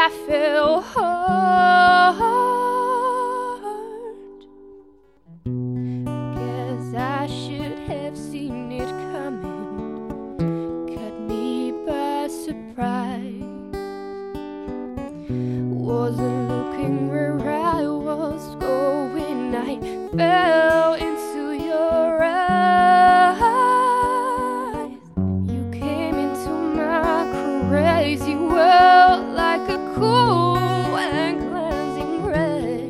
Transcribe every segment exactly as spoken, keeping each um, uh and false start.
I fell hard. Guess I should have seen it coming, caught me by surprise. Wasn't looking where I was going, I fell into your eyes. You came into my crazy world like a cool and cleansing ray.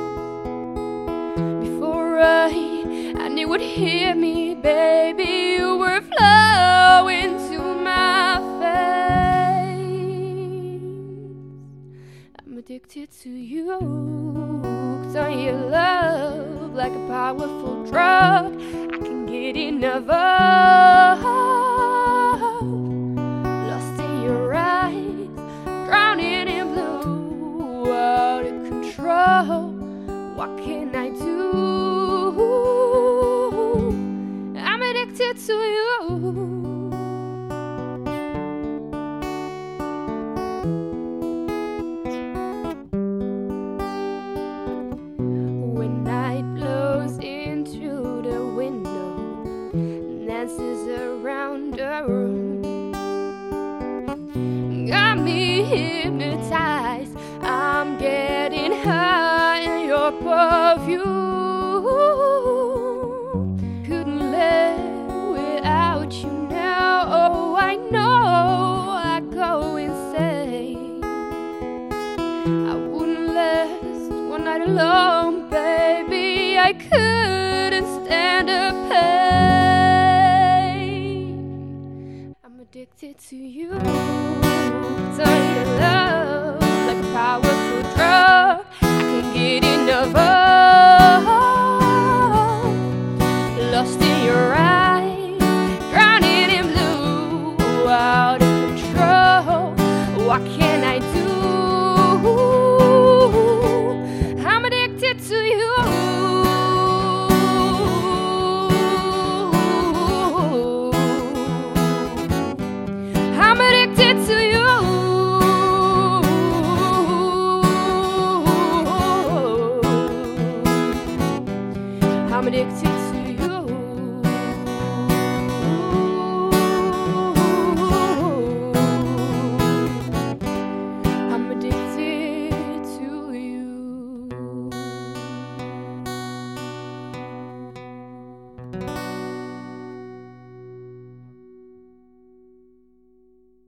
Before I, I knew would hear me, baby, you were flowing to my face. I'm addicted to you, hooked on your love like a powerful drug. I can get enough of. Lost in your eyes, drowning in blue, out of control. What can I do? I'm addicted to you. When night blows in through the window, dances around the room, got me hypnotized. I'm getting high in your perfume. Couldn't live without you now. Oh, I know I go insane. I wouldn't last one night alone, baby. I couldn't stand the pain. I'm addicted to you, to your love